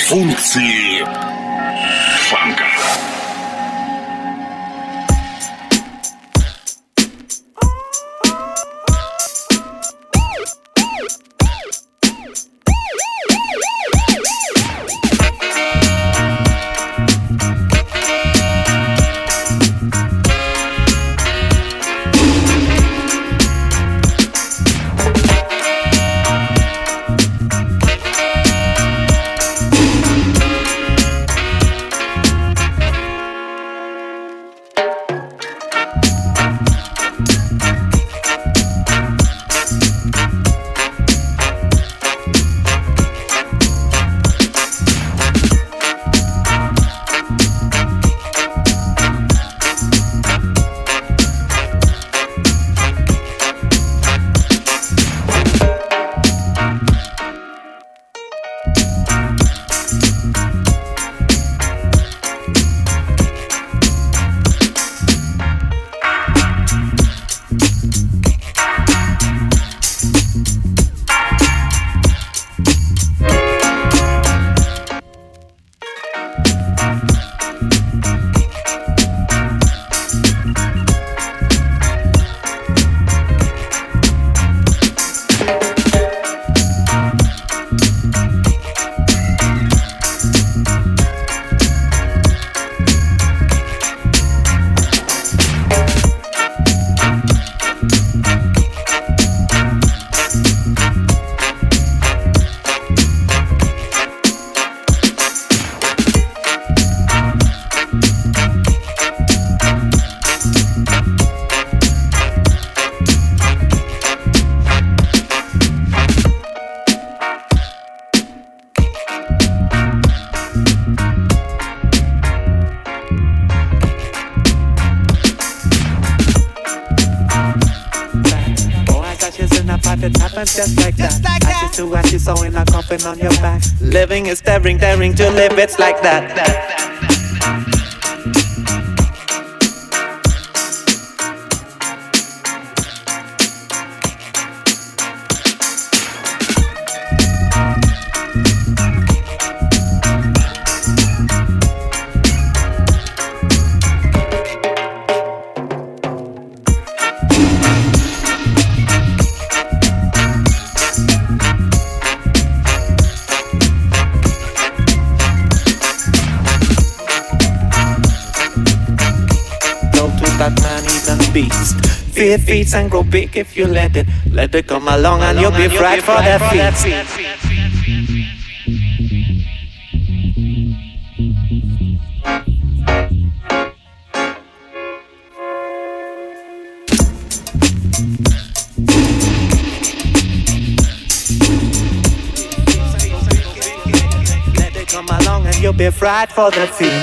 Функции фанка. Just like that. Ashes to ashes, sewing a coffin on your back. Living is daring, daring to live, it's like that. Fear feeds and grow big if you let it come along and you'll be right for that feet. Let it come along and you'll be right for that feet.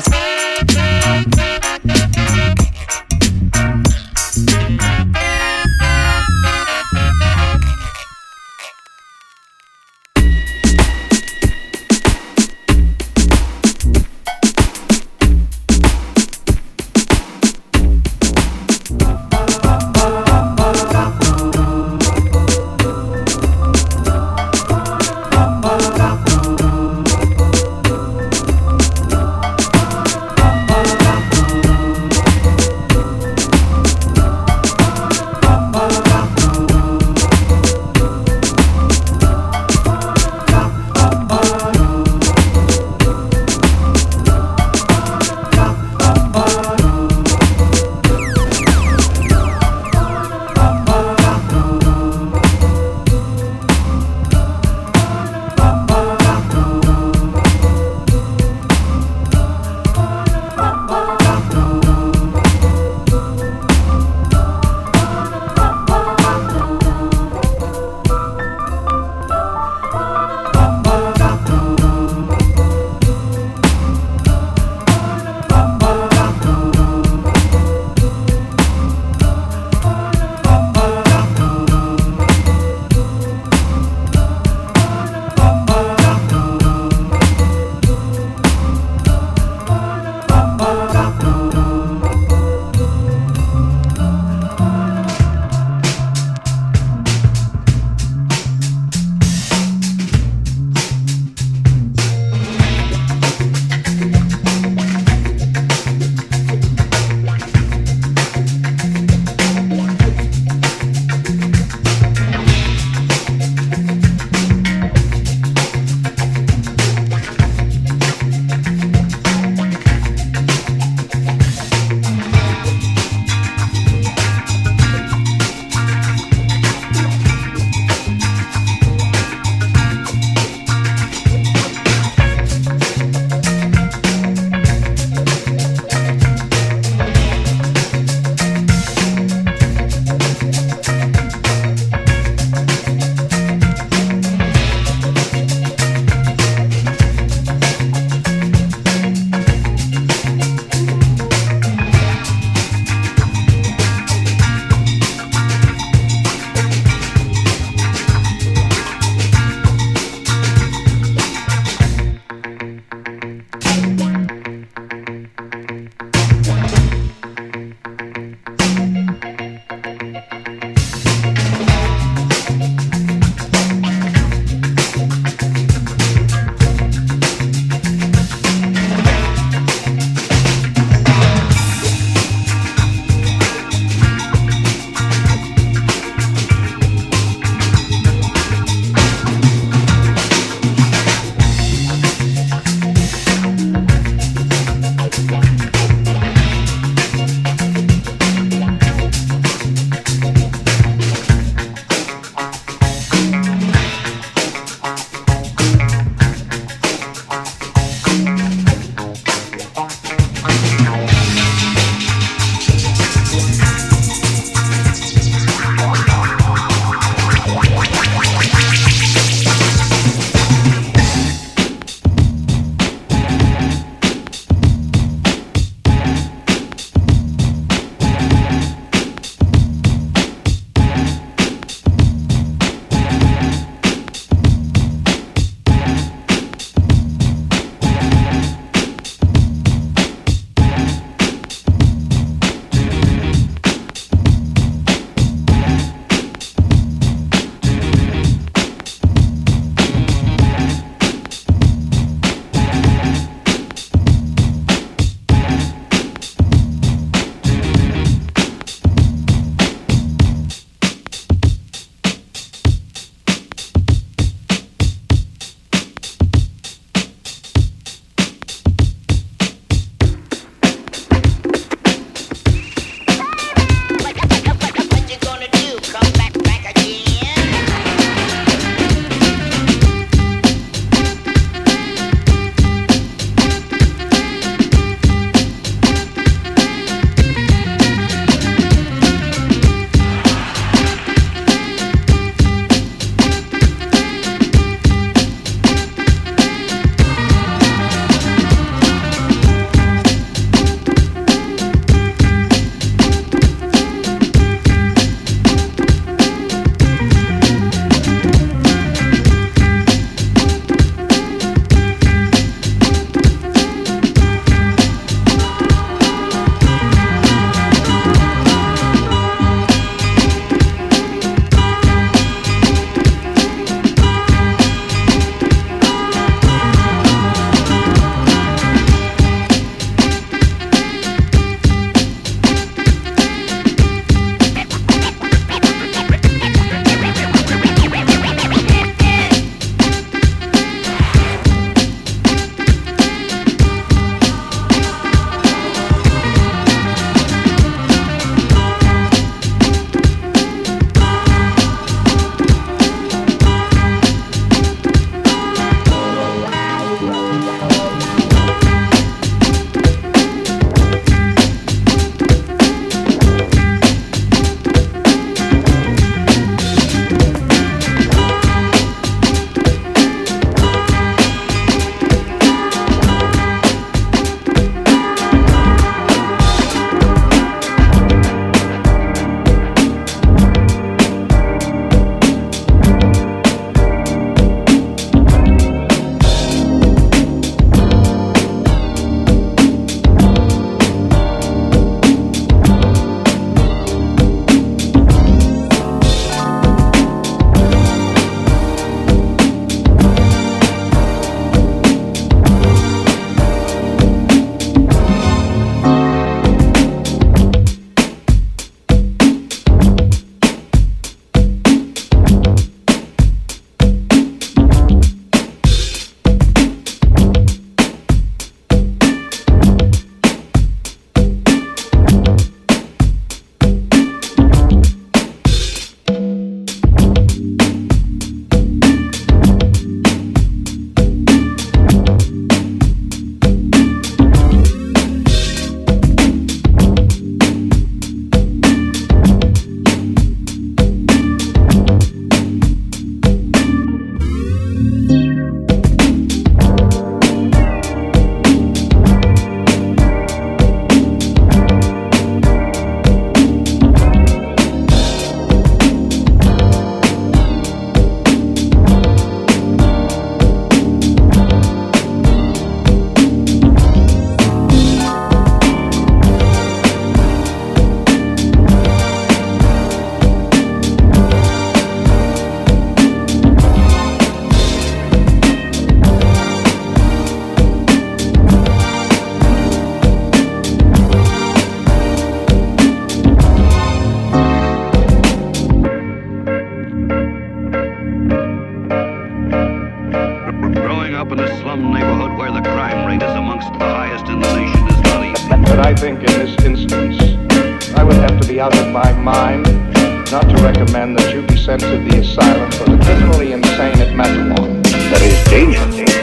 slum neighborhood where the crime rate is amongst the highest in the nation is not easy. But I think in this instance, I would have to be out of my mind not to recommend that you be sent to the asylum for the criminally insane at Matterhorn. There is danger.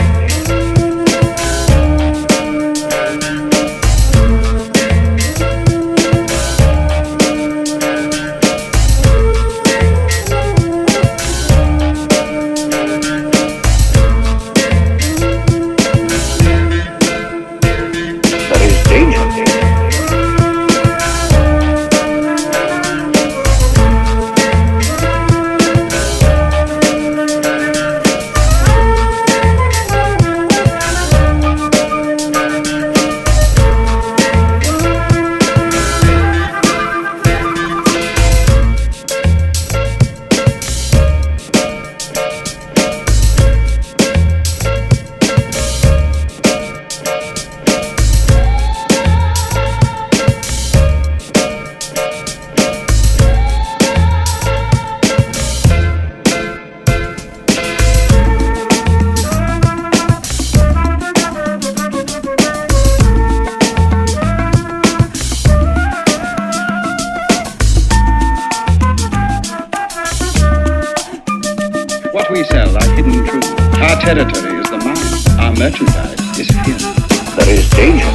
Territory is the mind. Our merchandise is fear. There is danger.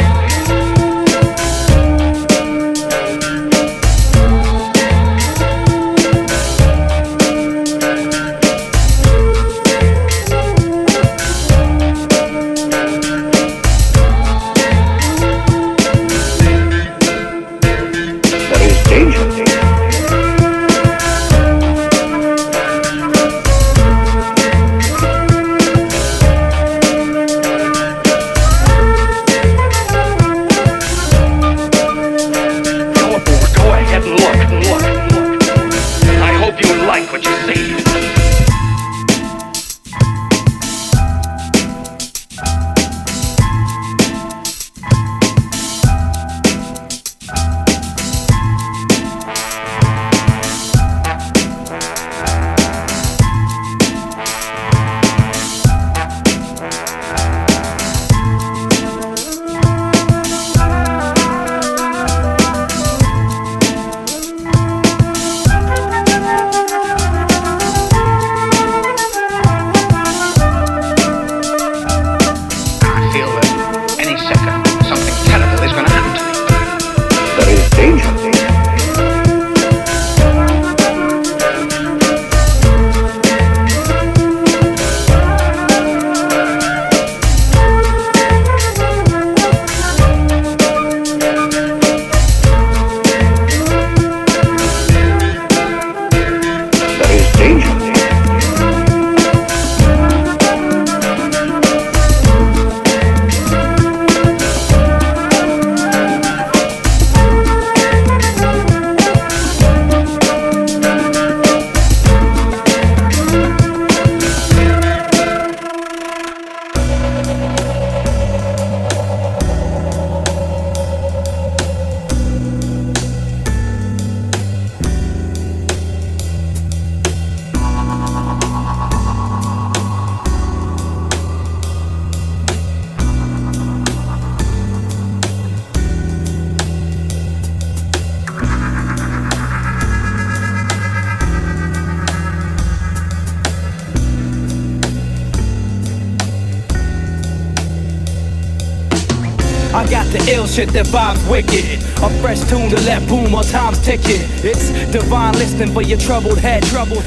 I got the ill shit that vibes wicked. A fresh tune to let boom while time's ticking. It's divine listening for your troubled head.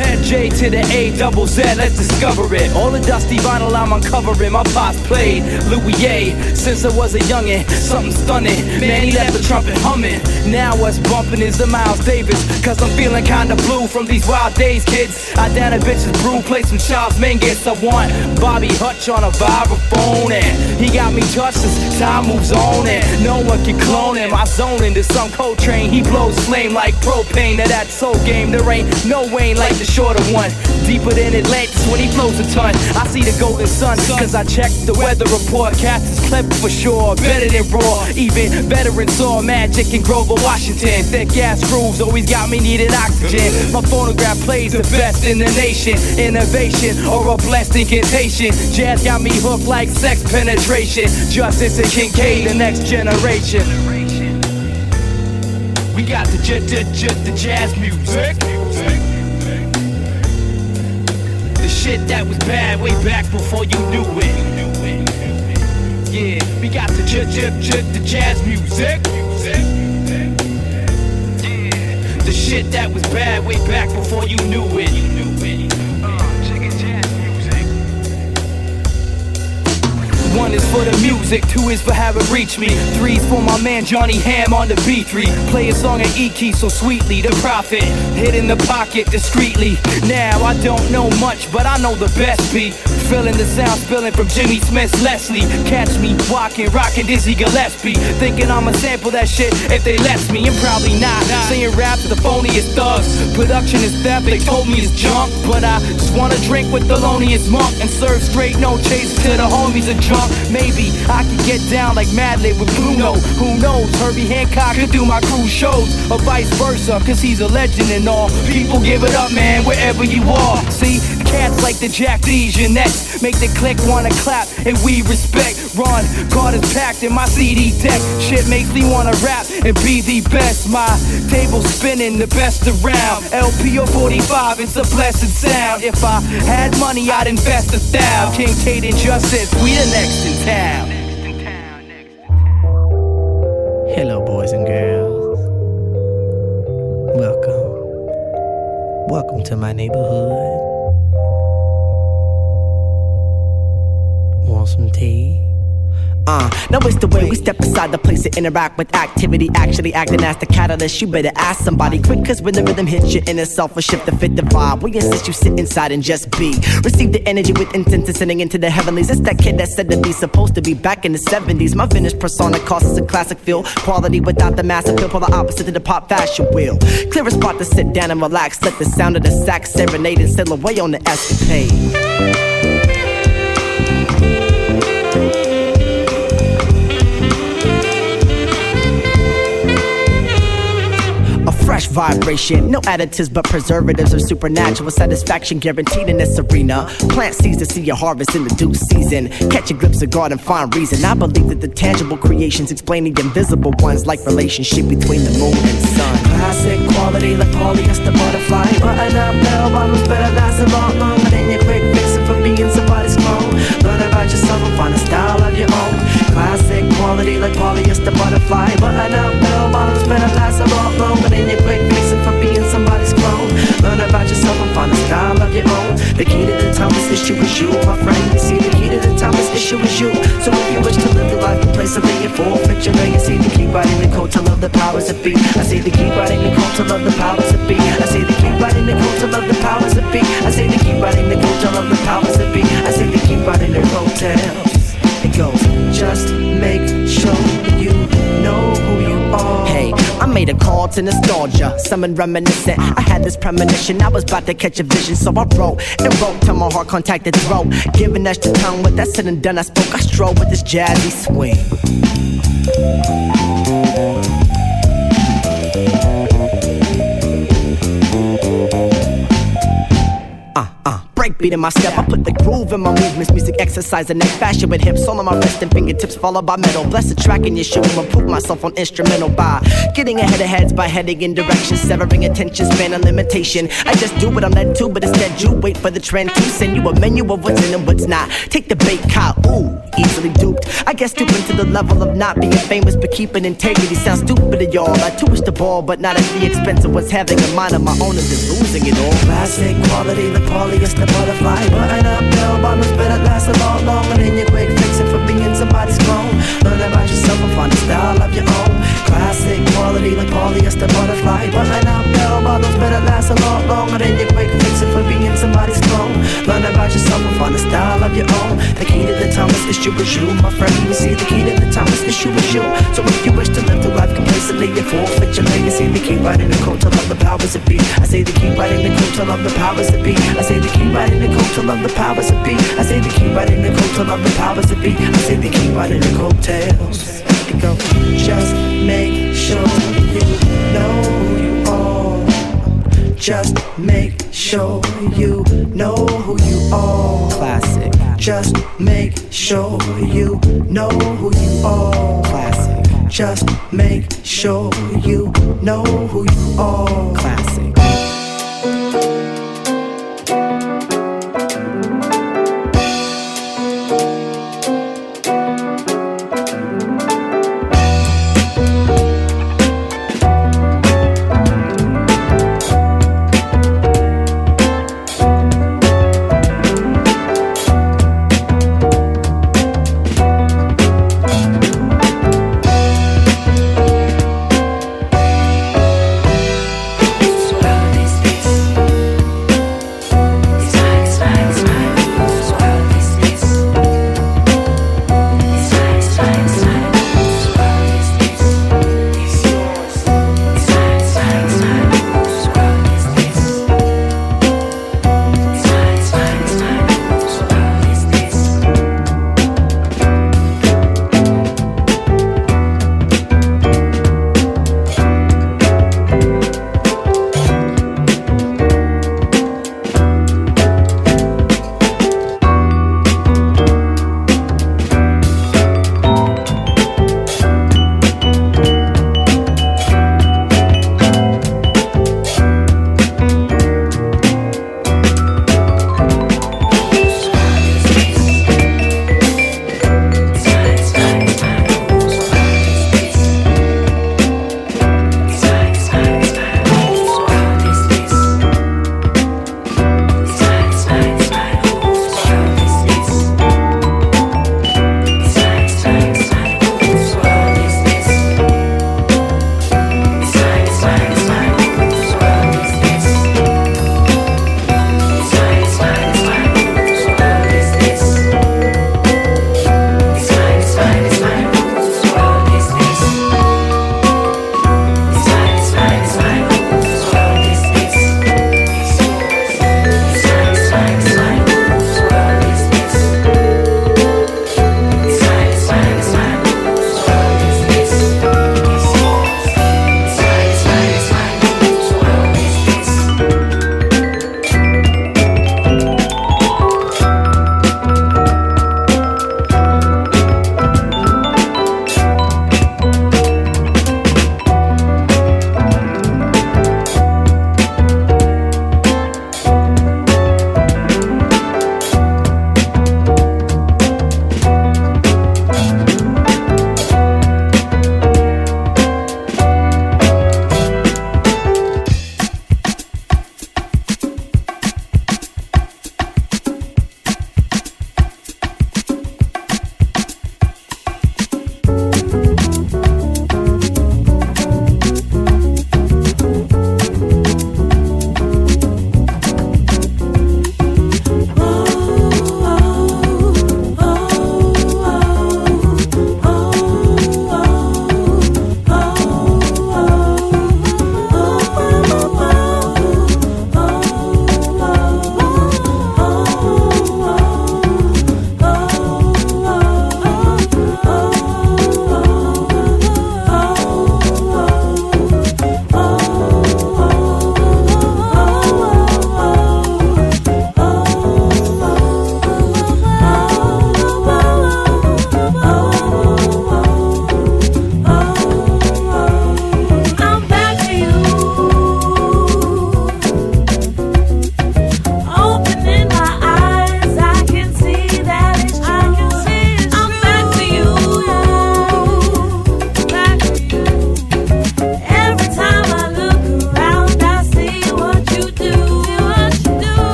J to the A double Z, let's discover it. All the dusty vinyl I'm uncovering. My pops played Louis A since I was a youngin'. Something stunning, man, he left the trumpet humming. Now what's bumping is the Miles Davis. Cause I'm feeling kinda blue from these wild days, kids. I down a bitch's brew, play some Charles Mingus. I want Bobby Hutch on a vibraphone, and he got me touched as time moves own it. No one can clone him. I zone into some Coltrane. He blows flame like propane. To that soul game, there ain't no Wayne like the shorter one. Deeper than Atlantis when he flows a ton. I see the golden sun, cause I checked the weather report. Cats is clever for sure, better than raw. Even veterans saw magic in Grover, Washington. Thick ass grooves always got me needing oxygen. My phonograph plays the best in the nation. Innovation or a blessed incantation. Jazz got me hooked like sex penetration. Justice and Kincaid, the next generation. We got the jazz music. The shit that was bad way back before you knew it. Yeah, we got the jazz music. Yeah, the shit that was bad way back before you knew it. Check it, jazz music. One is for the music, two is for how it reached me. Three's for my man Johnny Ham on the B3. Play a song in E-key so sweetly. The prophet hid in the pocket discreetly. Now I don't know much, but I know the best beat. Feeling the sound spilling from Jimmy Smith's Leslie. Catch me walking, rocking Dizzy Gillespie. Thinking I'ma sample that shit if they let me, and probably not. Saying rap to the phoniest thugs. Production is theft, they told me it's junk. But I just wanna drink with the loneliest monk and serve straight, no chase to the homies and drunk. Maybe I could get down like Madlib with Bruno. Who knows, Herbie Hancock could do my cruise shows. Or vice versa, cause he's a legend and all. People give it up, man, wherever you are. See, cats like the Jack D's, Jeanette make the click wanna clap, and we respect. Ron Carter's packed in my CD deck. Shit makes me wanna rap and be the best. My table spinning, the best around. LP or 45, it's a blessed sound. If I had money, I'd invest 1,000. Kincaid and Justice, we the next in town. Hello, boys and girls. Welcome to my neighborhood. Want some tea? Now it's the way we step aside the place to interact with activity. Actually acting as the catalyst. You better ask somebody quick, cause when the rhythm hits you in itself, a shift to fit the vibe. We insist you sit inside and just be. Receive the energy with intent descending into the heavenlies. It's that kid that said to be supposed to be back in the 70s. My vintage persona causes a classic feel. Quality without the mass appeal, for the opposite to the pop fashion wheel. Clear a spot to sit down and relax. Let the sound of the sax serenade and sail away on the escapade. Fresh vibration, no additives but preservatives or supernatural satisfaction guaranteed in this arena. Plant seeds to see your harvest in the due season. Catch a glimpse of God and find reason. I believe that the tangible creations explain the invisible ones, like relationship between the moon and sun. Classic quality like polyester butterfly. Button up bell bottoms better last a lot longer than your quick fixing for being somebody's clone. Learn about yourself and find a style of your own. Classic quality like polyester butterfly. Button up bell bottoms better last a lot longer than your quick fixing for being somebody's clone. Learn about yourself and find a style of your own. The key to the timeless issue is you, my friend. You see, the key to the timeless issue is you. So if you wish to live the life, the place of being full picture, you see the key writing the code to love the powers that be. I see the key writing the code to love the powers that be. I see the key writing the code to love the powers that be. I see the key writing the code to love the powers that be. I see the key writing the code tells. It goes, just make sure you know who you are. Hey, I made a call to nostalgia, something reminiscent. I had this premonition, I was about to catch a vision, so I wrote and wrote till my heart contacted throat. Giving extra tongue, with that said and done, I spoke. I strode with this jazzy swing. Breakbeat in my step, I put the groove in my movements. Music exercise and neck fashion with hips all on my wrist and fingertips followed by metal. Bless the track in your shoe and improve myself on instrumental by getting ahead of heads by heading in directions, severing attention span and limitation. I just do what I'm led to, but instead you wait for the trend to send you a menu of what's in and what's not. Take the bait, caught, ooh, easily duped. I guess stooping to the level of not being famous, but keeping integrity sounds stupid to y'all. I twist the ball, but not at the expense of what's having a mind of my own and just losing it all. Classic quality like polyester butterfly. Button up bell bottoms better last a lot longer than your quick fixing for being somebody's clone. Learn about yourself and find a style of your own. Classic quality like polyester butterfly. Button up bell bottoms better last a lot longer than your quick fixing for being somebody's clone. Learn about yourself and find a style of your own. The key to the timeless is you was you, my friend. We see the key to the time is you was you. So if you wish to live the life complacently and forfeit your legacy, the key right in the code to love the powers that be. I say the key right in the code to love the powers that be. I say the key right in the code to love the powers that be. I say the key right in the code to love the powers that be. I say the key right in the coattails. It go, just make sure you know who you are. Just make sure you know who you are. Classic. Just make sure you know who you are. Classic. Just make sure you know who you are. Classic.